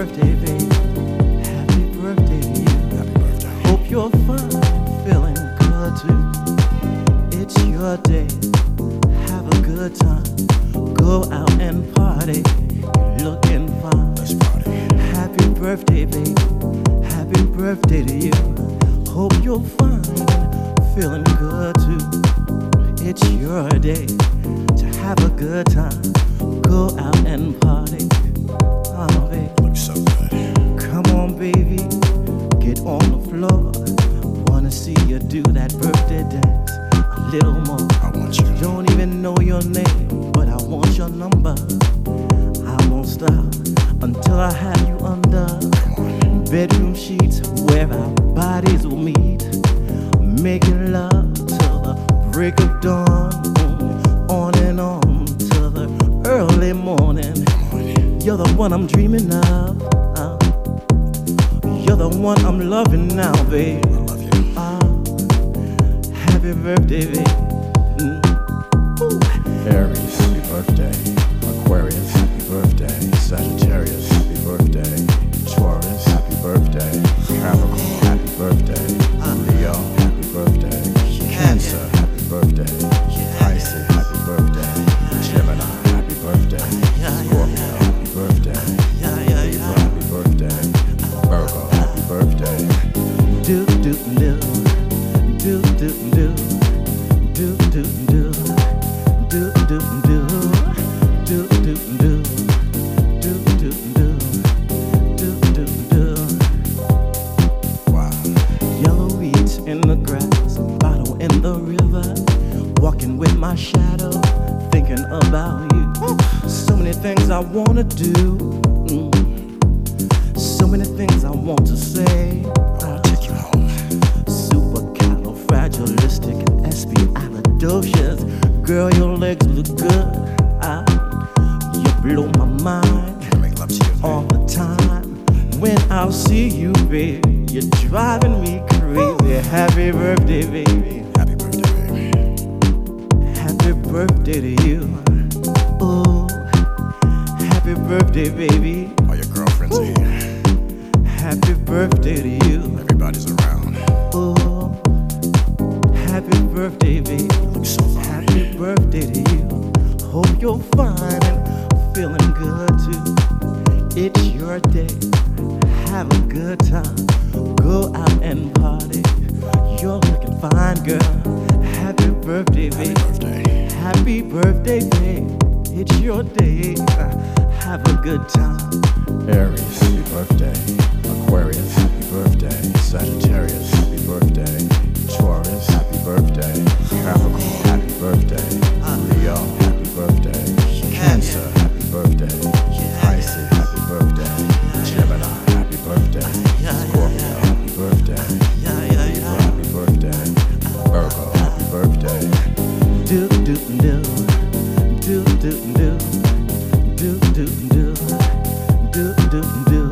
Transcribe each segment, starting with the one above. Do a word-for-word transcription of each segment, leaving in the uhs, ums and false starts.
birthday, baby. Happy birthday to you. Happy birthday. Hope you're fine, feeling good too. It's your day. Have a good time. Go out and party. You're looking fine. Let's party. Happy birthday, baby. Happy birthday to you. Hope you're fine, feeling good too. It's your day to have a good time. Go out and party. Oh, baby. Looks so good. Come on, baby. Get on the floor. Wanna see you do that birthday dance a little more. I want you. Don't even know your name, but I want your number. I won't stop until I have you under bedroom sheets where our bodies will meet, making love till the break of dawn, on and on till the early morning. You're the one I'm dreaming of. Uh, you're the one I'm loving now, babe. I love you. Uh, happy birthday, babe. Mm. Aries, happy birthday. Aquarius, happy birthday. Sagittarius, happy birthday. Taurus, happy birthday. Capricorn, happy birthday. Leo, happy birthday. Cancer, happy birthday. Pisces, happy birthday. Gemini, happy birthday. Scorpio, happy birthday. Libra, happy birthday. Virgo, happy birthday. Do do do do do do do do do do do do do do do do do do do do. Wow. Yellow weeds in the grass, bottle in the river, walking with my shadow, thinking about you. So many things I wanna do, mm. so many things I want to say. I'll take you home. Supercalifragilisticexpialidocious. Girl, your legs look good. Ah, you blow my mind Can I make love to you? all the time. When I see you, baby, you're driving me crazy. Happy birthday, baby. Happy birthday, baby. Happy birthday to you. Oh, happy birthday, baby. All your girlfriends are here. Happy birthday to you. Everybody's around. Oh, happy birthday, baby. Look so fine. Happy birthday to you. Hope you're fine and feeling good too. It's your day. Have a good time. Go out and party. You're looking fine, girl. Happy birthday, Happy baby. birthday. Happy birthday, babe. It's your day. Have a good time. Aries, happy birthday. Aquarius, happy birthday. Sagittarius, happy birthday. Taurus, happy birthday. Capricorn, happy birthday. Leo, happy birthday. Cancer, happy birthday. Pisces, happy birthday. Gemini, happy birthday. Scorpio, happy birthday. Libra, happy birthday. Virgo, happy birthday. Do do do do do do do do do do do do.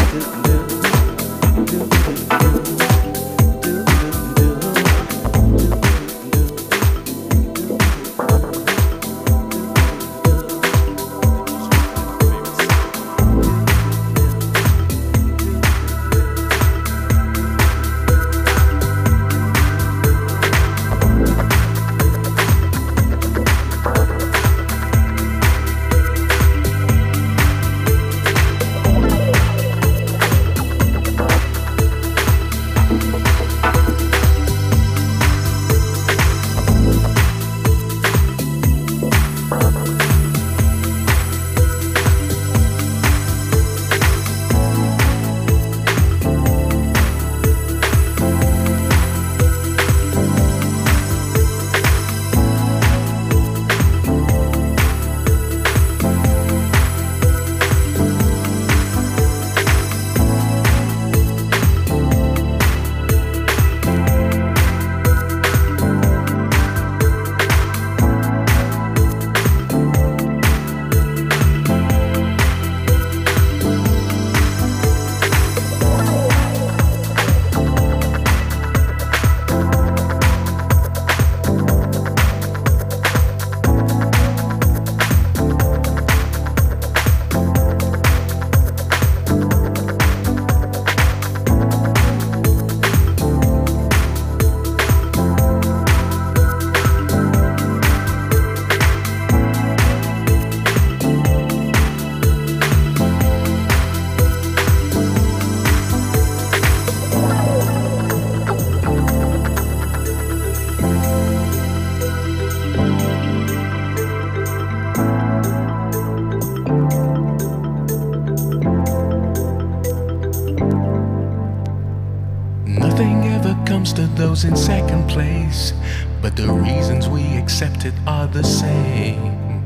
those in second place, but the reasons we accept it are the same.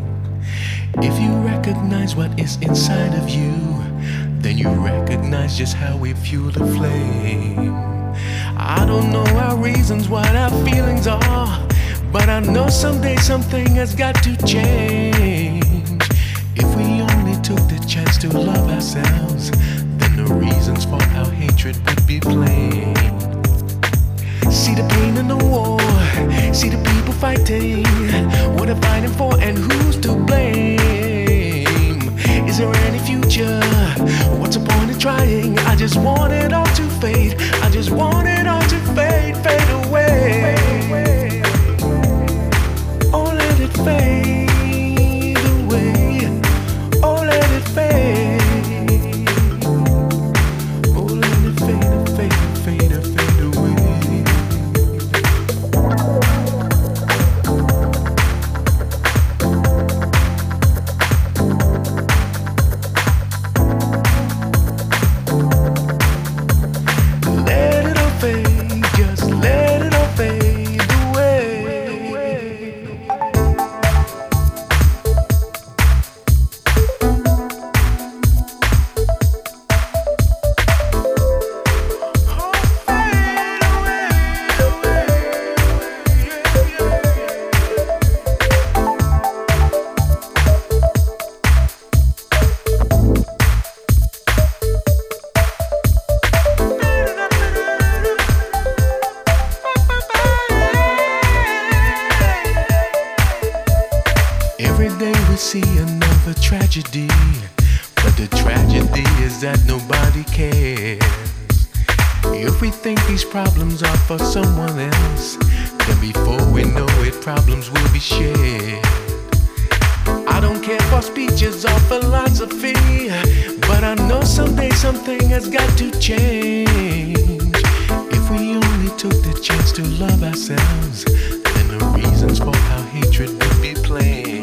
If you recognize what is inside of you, then you recognize just how we fuel the flame. I don't know our reasons, what our feelings are, but I know someday something has got to change. If we only took the chance to love ourselves, then the reasons for our hatred would be plain. See the pain in the war, see the people fighting, what they're fighting for and who's to blame. Is there any future? What's the point of trying? I just want it all to fade, I just want it all to fade, fade away. Oh, let it fade away, oh, let it fade. Oh, let it fade, fade, fade, fade away. Let it all fade, just let it all fade away. Every day we see another tragedy, but the tragedy is that nobody cares. If we think these problems are for someone else, then before we know it, problems will be shared. I don't care for speeches or philosophy, but I know someday something has got to change. If we only took the chance to love ourselves, then the reasons for our hatred would be plain.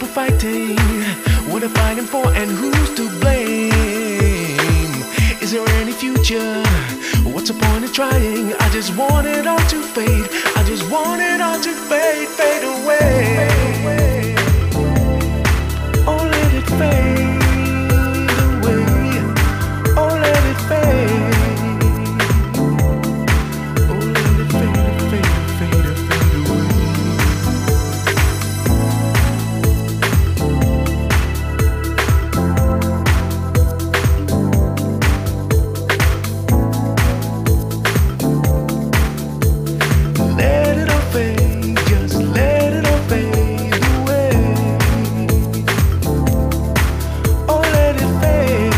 people fighting? What they're fighting for and who's to blame? Is there any future? What's the point of trying? I just want it all to fade. I just want it all to fade, fade away. Oh, let it fade away. Oh, let it fade. Oh, let it fade, fade, fade, fade away. Let it all fade, just let it all fade away. Oh, let it fade.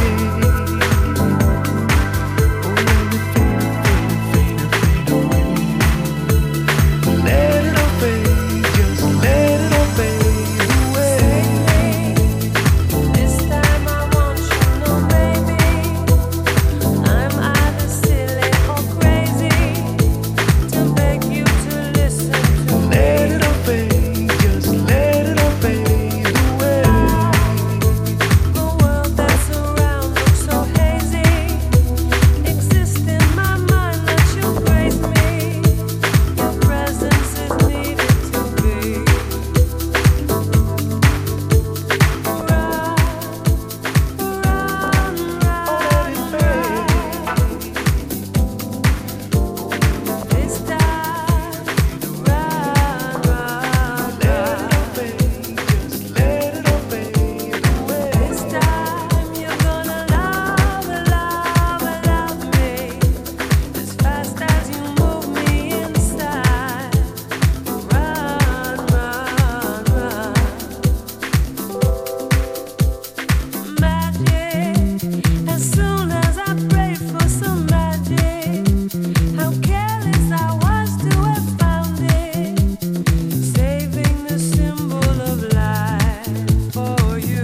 Oh, let it fade, fade, fade, fade away. Let it all fade, just let it all fade away. This time I want you to know, baby, I'm either silly or crazy to beg you to listen to me. Let it all fade, just let it all fade away. The world that's around looks so hazy. Exist in my mind, let you grace me. Your presence is needed to be. Run, run, run. This time, run, run, run. Just let it all fade away. This time you're gonna love, love, love me as fast as you move me inside. Run, run, run. Magic. As soon as I prayed for some magic, how careless I was to have found it. Saving the symbol of life for you.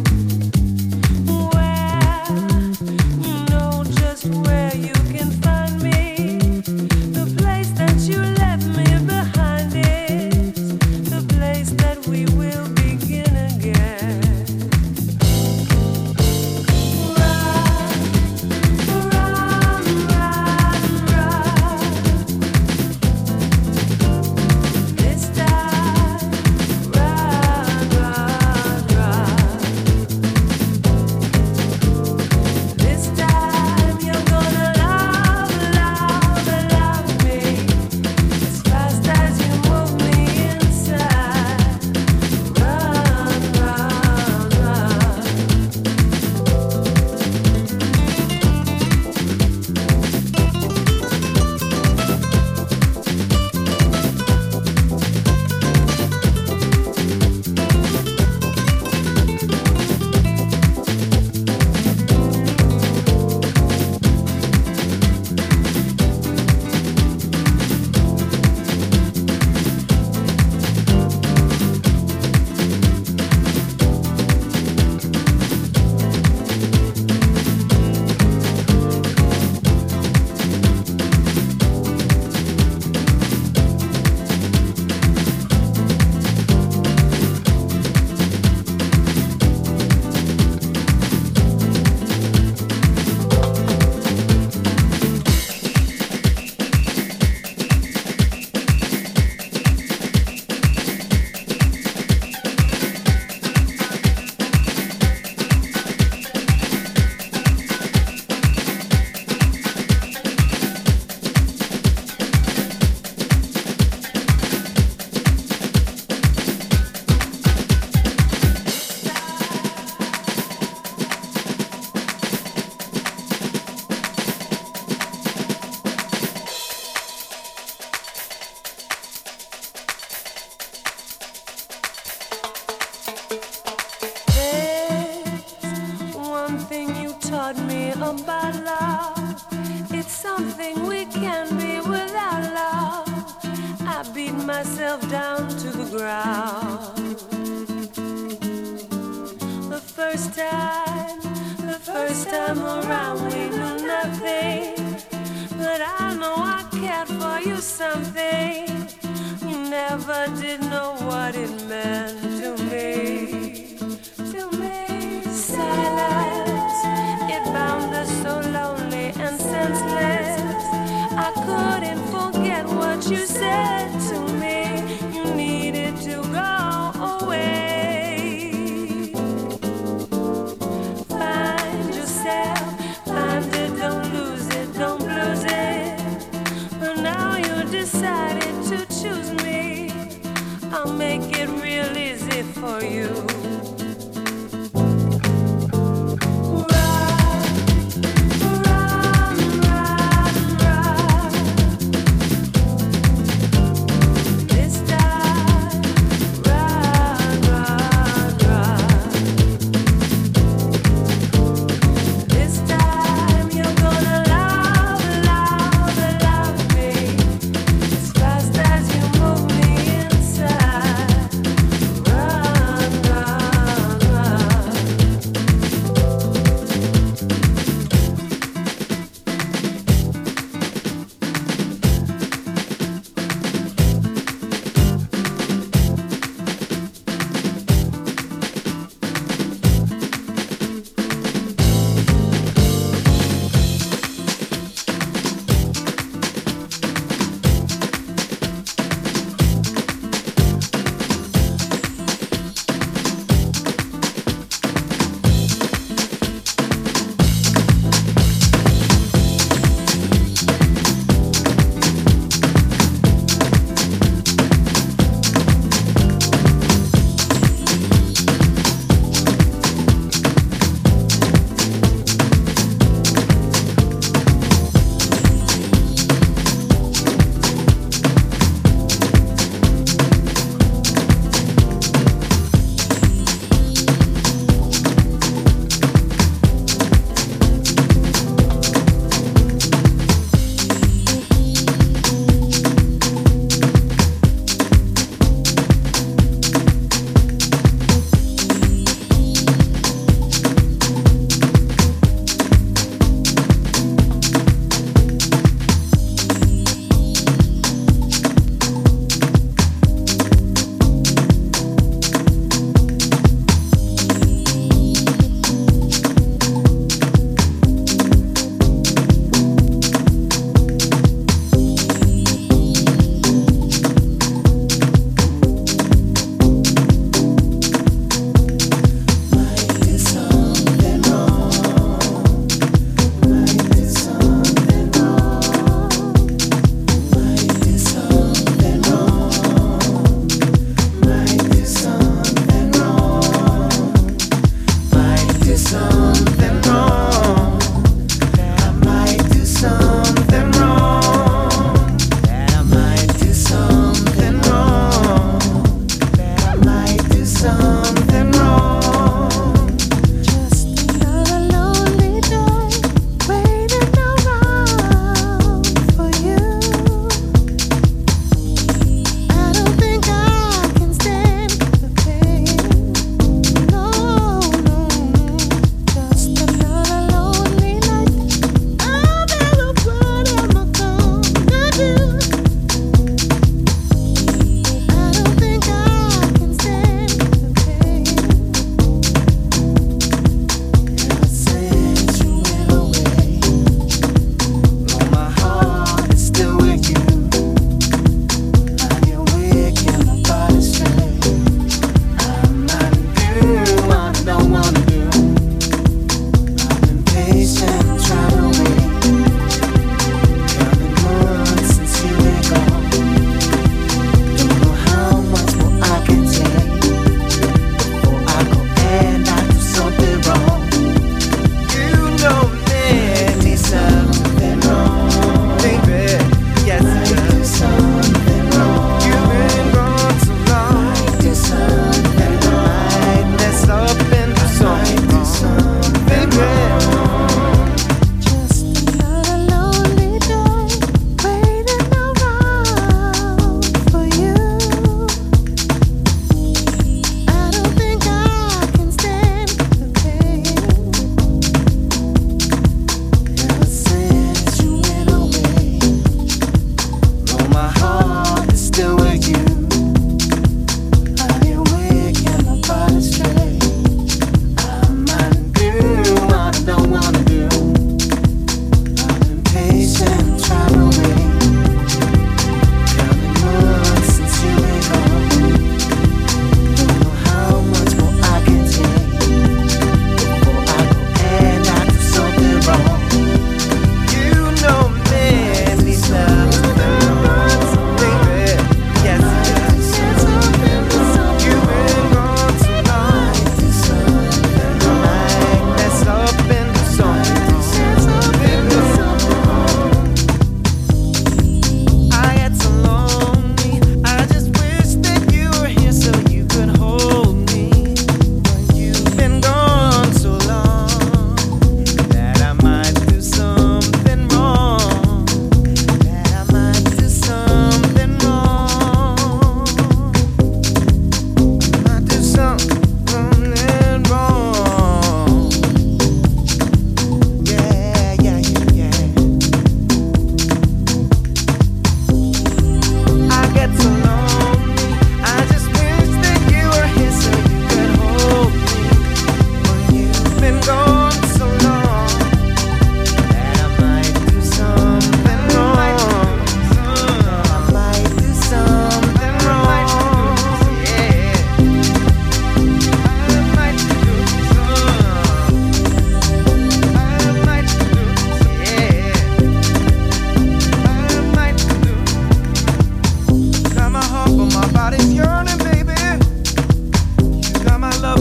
Where you know just where you can find me. The place that you left me behind is the place that we will begin again. Run, run, run, run. This time, run, run, run. This time you're gonna love, love, love me as fast as you move me inside. Run, run, run. There's one thing you taught me about love. It's something we can't be without love. I beat myself down to the ground. The first time, the first time around we knew nothing. But I know I cared for you something. You never did know what it meant to me. you. Run, run, run, run. This time, run, run, run. This time you're gonna love, love, love me as fast as you move me inside. Run, run.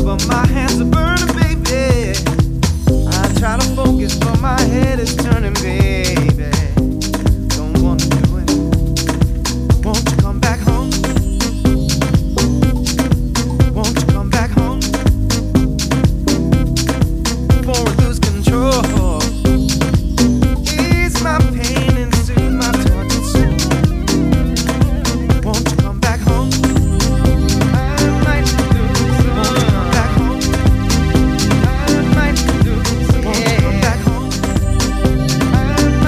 but my hands are burning, baby. I try to focus, but my head is turning, baby. Don't wanna do it. Won't you come back home? Won't you come back home? Before I lose control, ease my pain and soothe my tortured soul. Won't you come back home? I might lose. Won't you come back home? I might lose. Won't you come back home? I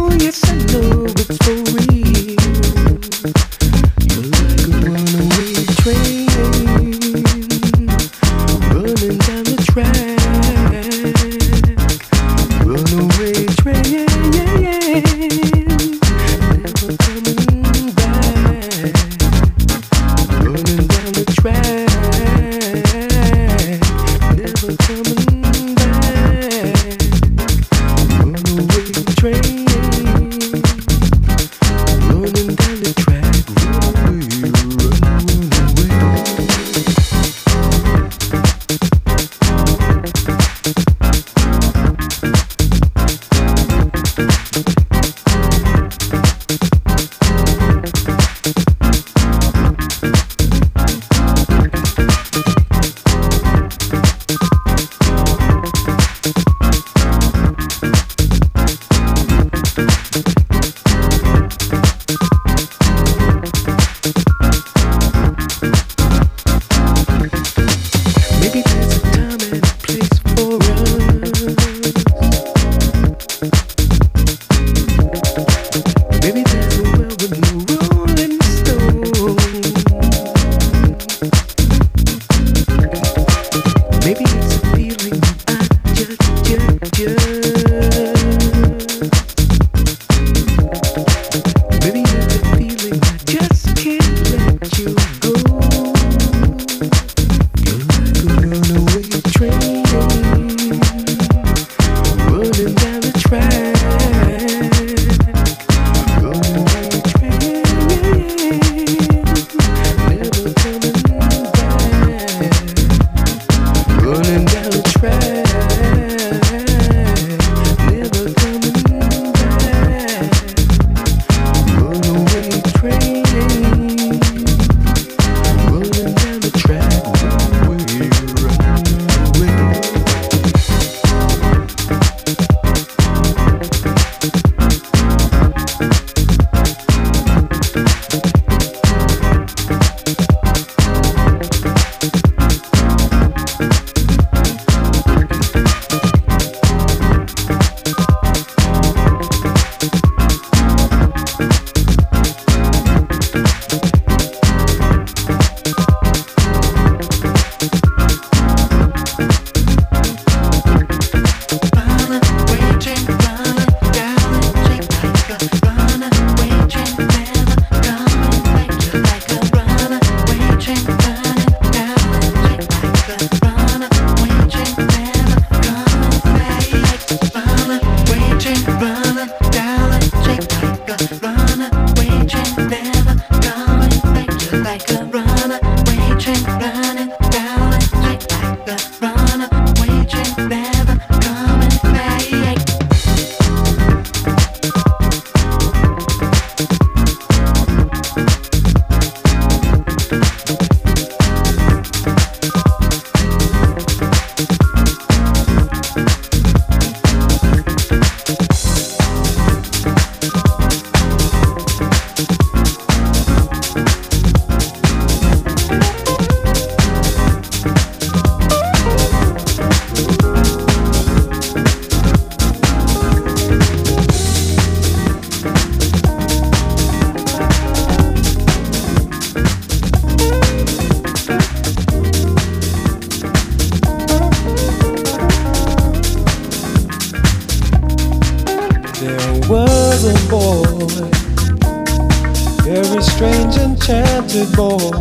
enchanted boy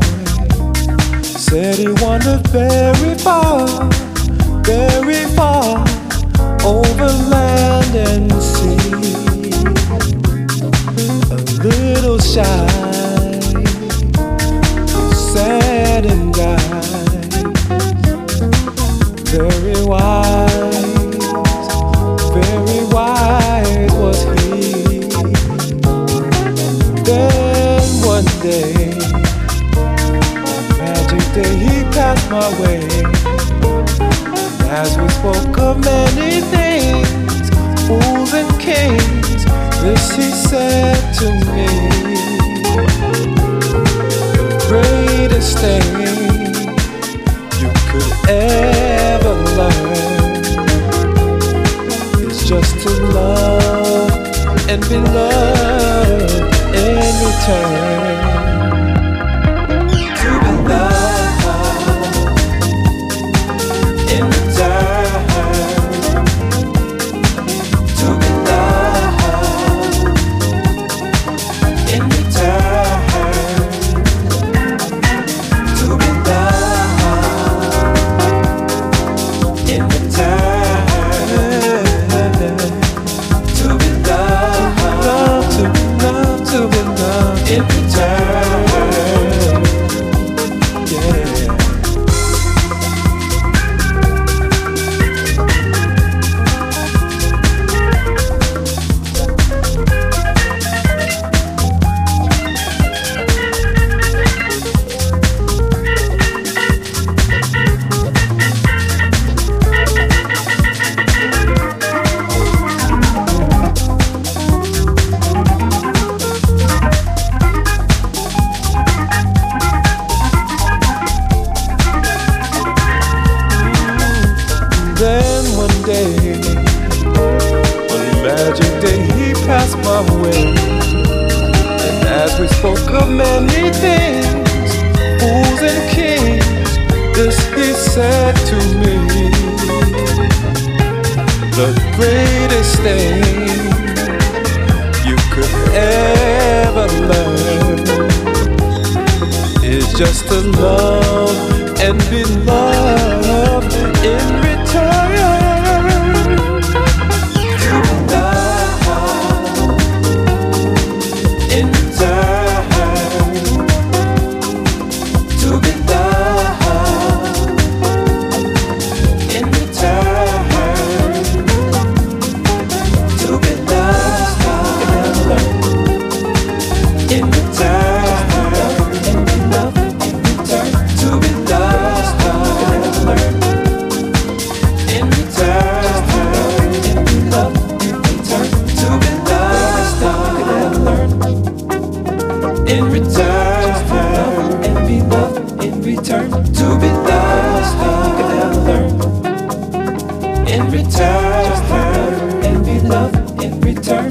said he wandered very far, very far over land and sea. A little shy, sad and guy, very wise, very wise was he. Then one day, a magic day, he passed my way. As we spoke of many things, fools and kings, this he said to me: the greatest thing you could ever learn is just to love and be love in return. To be loved in return. To be loved in return. To be loved in return. To be loved, to be loved, to be loved in return. Yeah. Then one day, one magic day, he passed my way. And as we spoke of many things, fools and kings, this he said to me: the greatest thing you could ever learn is just to love and be loved in return. To be loved in return. To be loved in return. To be loved in return. To be loved in return, and be loved in return. To be loved in return, and be loved in return. To be loved in return, and be loved in return.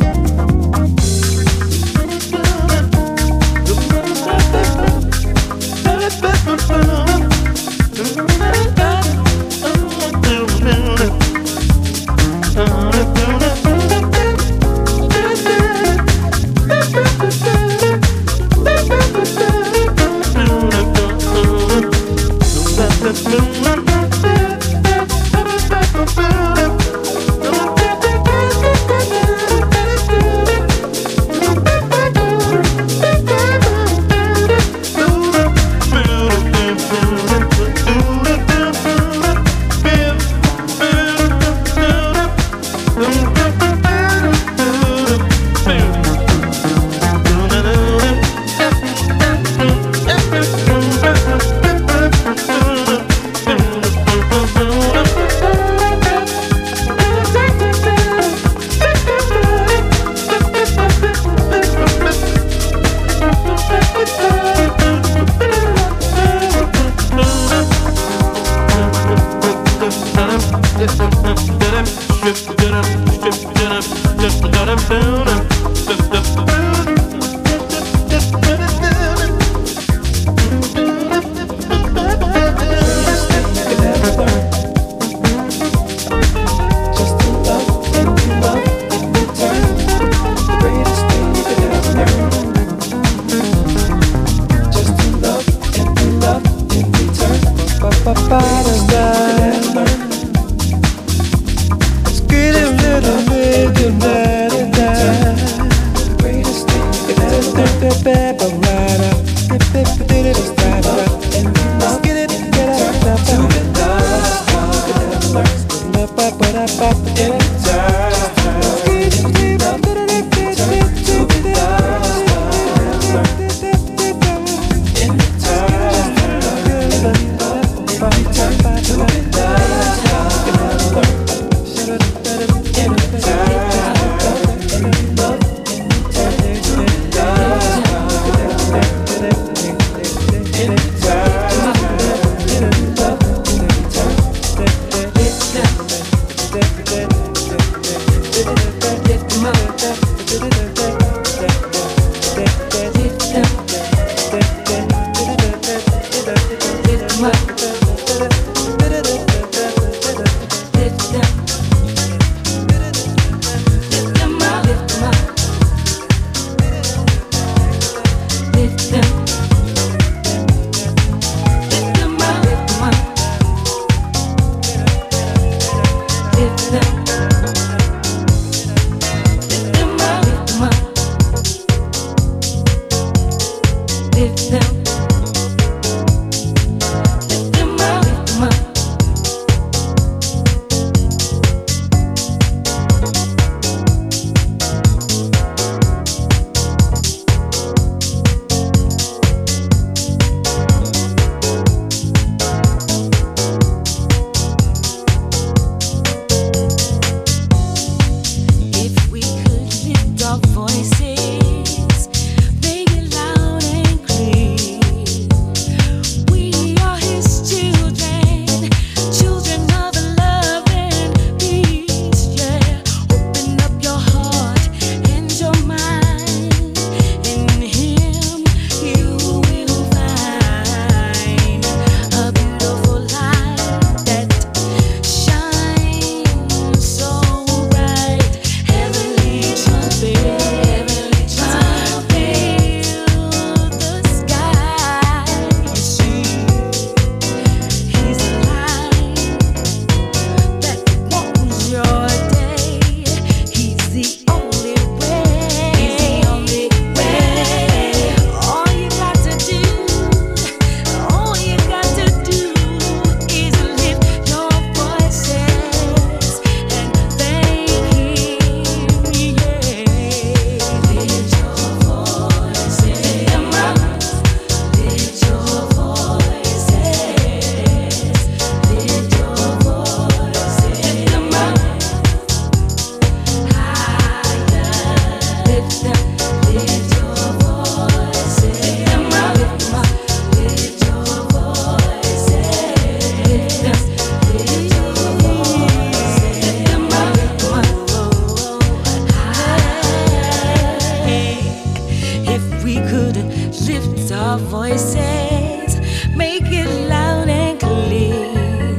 lift our voices, make it loud and clear.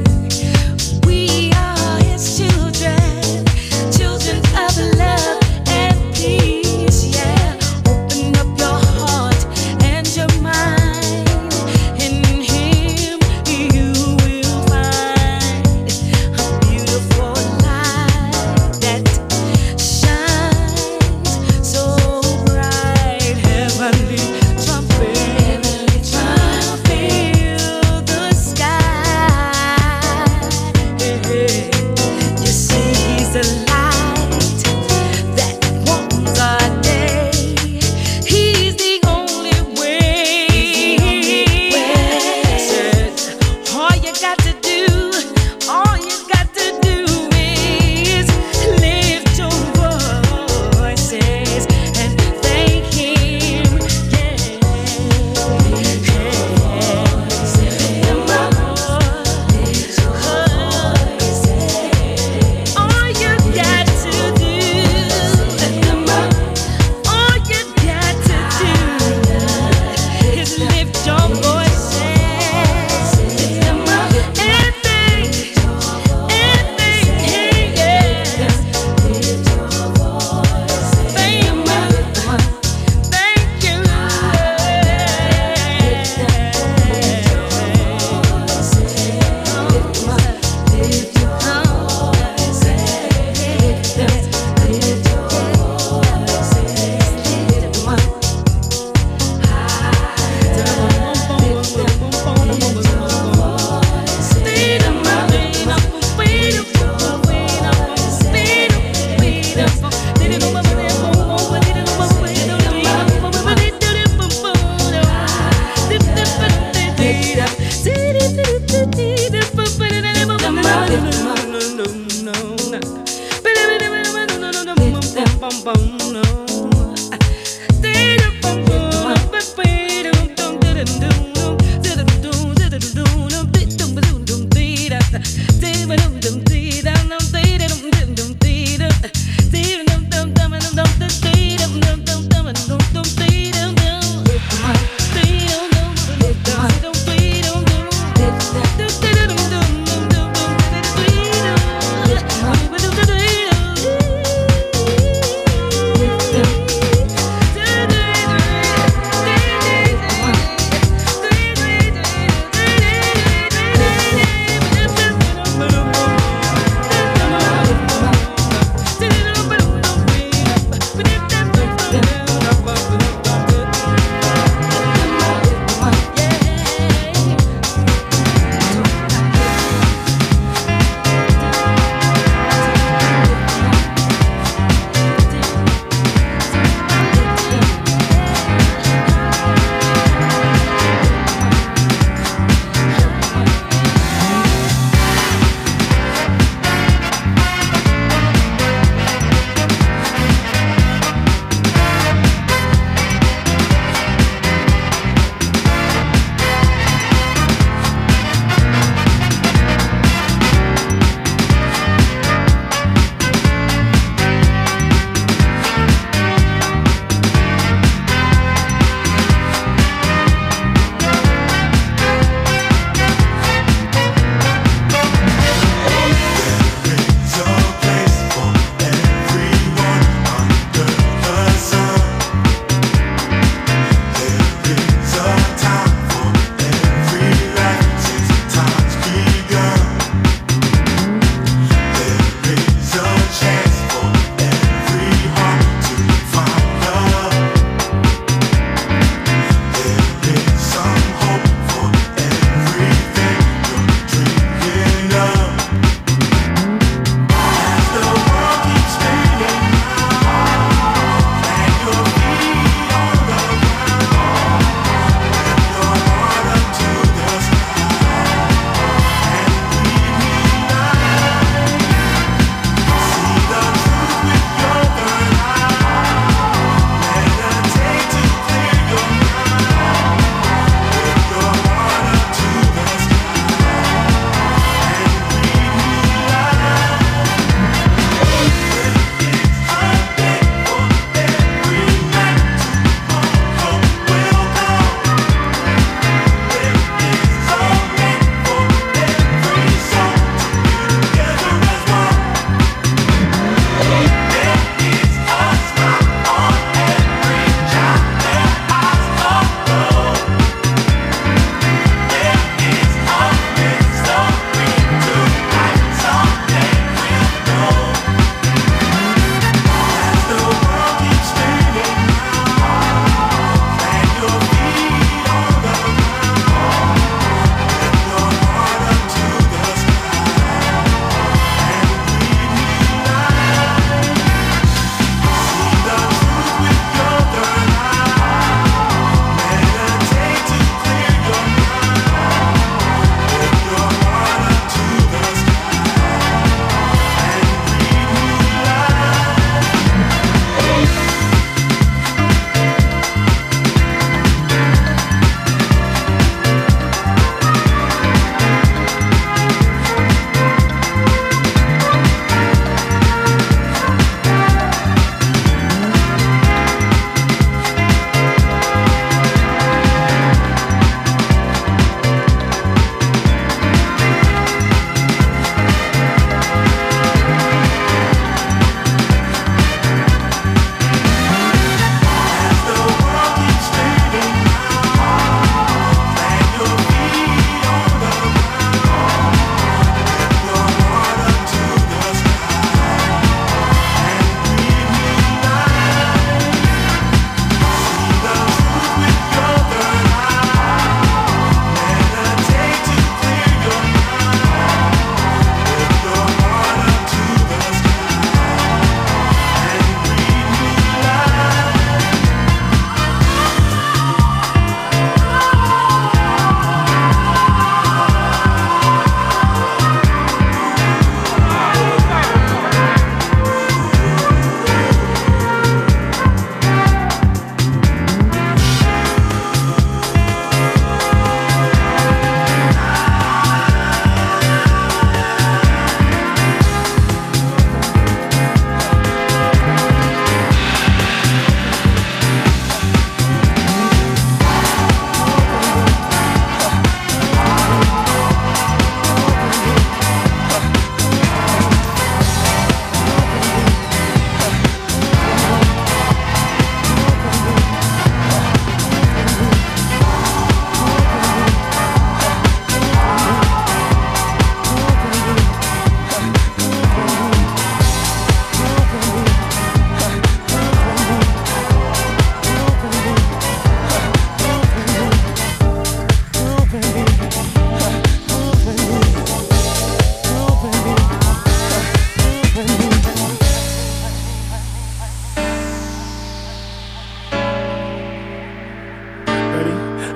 We are His children, children of love and peace. Yeah, open up your heart and your mind. In Him you will find a beautiful light that shines so bright. Heavenly trumpet, heavenly trumpet.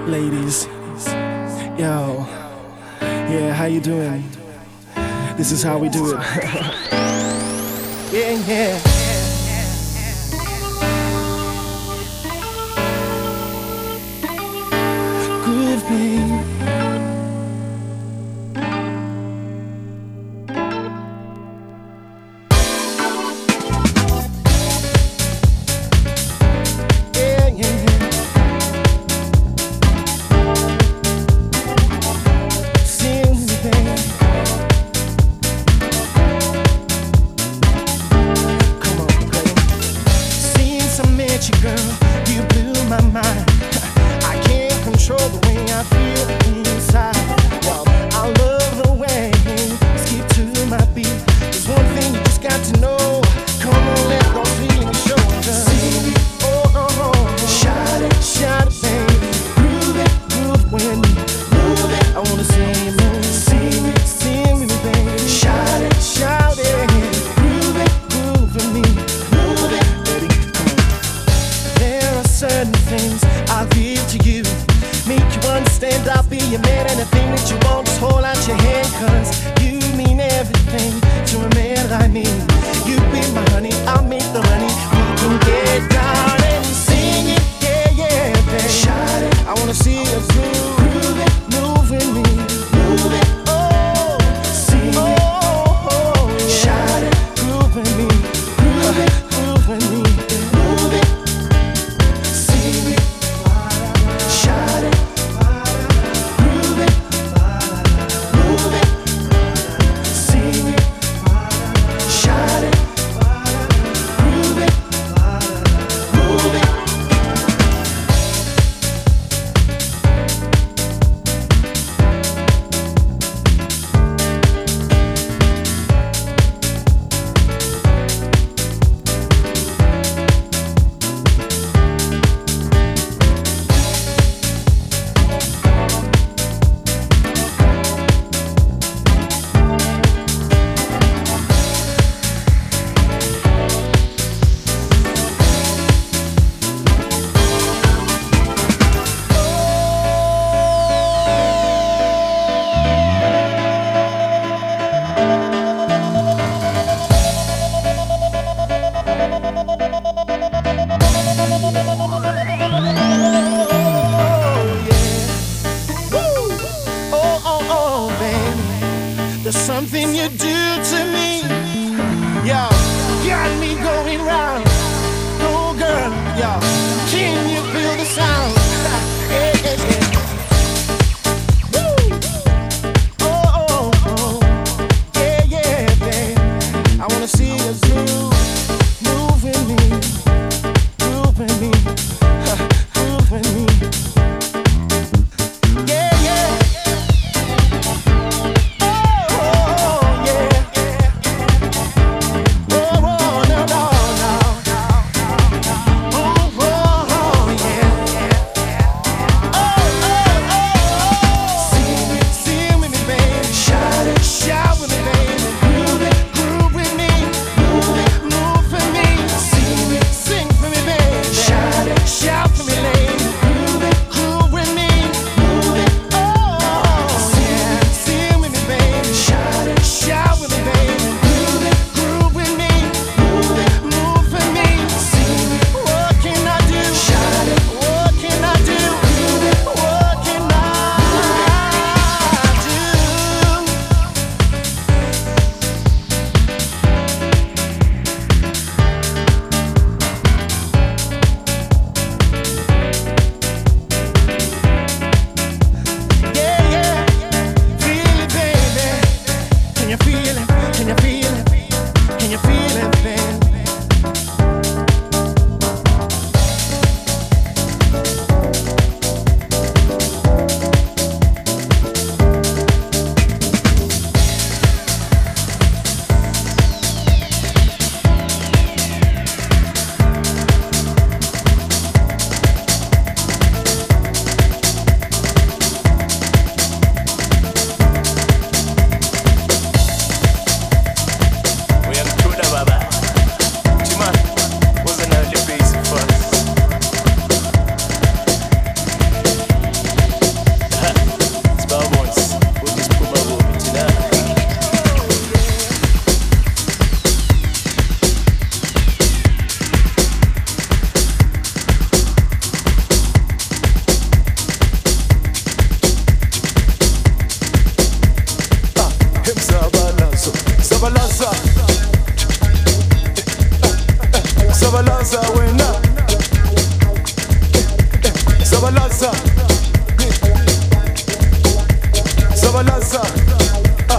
ladies. Yo, yeah, how you doing? This is how we do it. Yeah, yeah. Groove, babe. Sabalaza, Sabalaza, ah.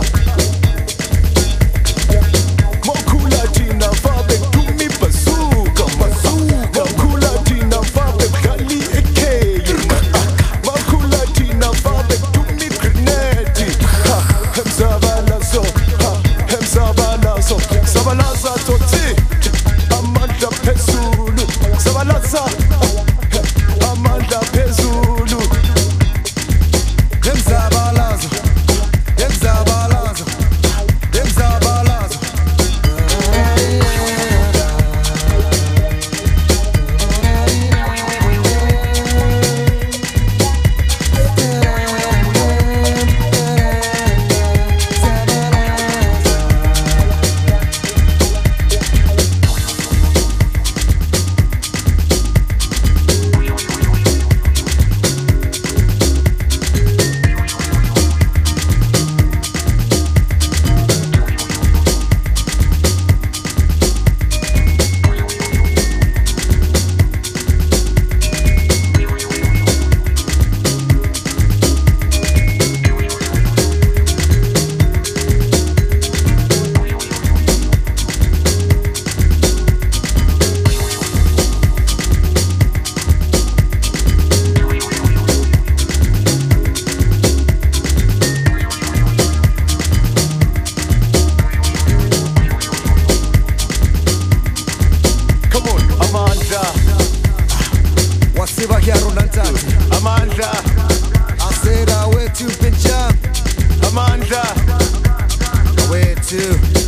Mokula Tina Fabe Tumi Bazooka, Bazooka. Mokula Tina Fabe Gali Eke, Mokula Tina Fabe Tumi Grenade, ha. Hem Sabalazo, ha. Hem Sabalazo, Sabalaza Toti, Amanda Pesulu, Sabalaza, Amanda Pesulu. Hem Sabalazo, Hem Sabalazo, Hem Sabalazo. Come on, Amanda. Wasiba Hyaru Nantati. Amanda, I said I went to Pinjam. Amanda, I went to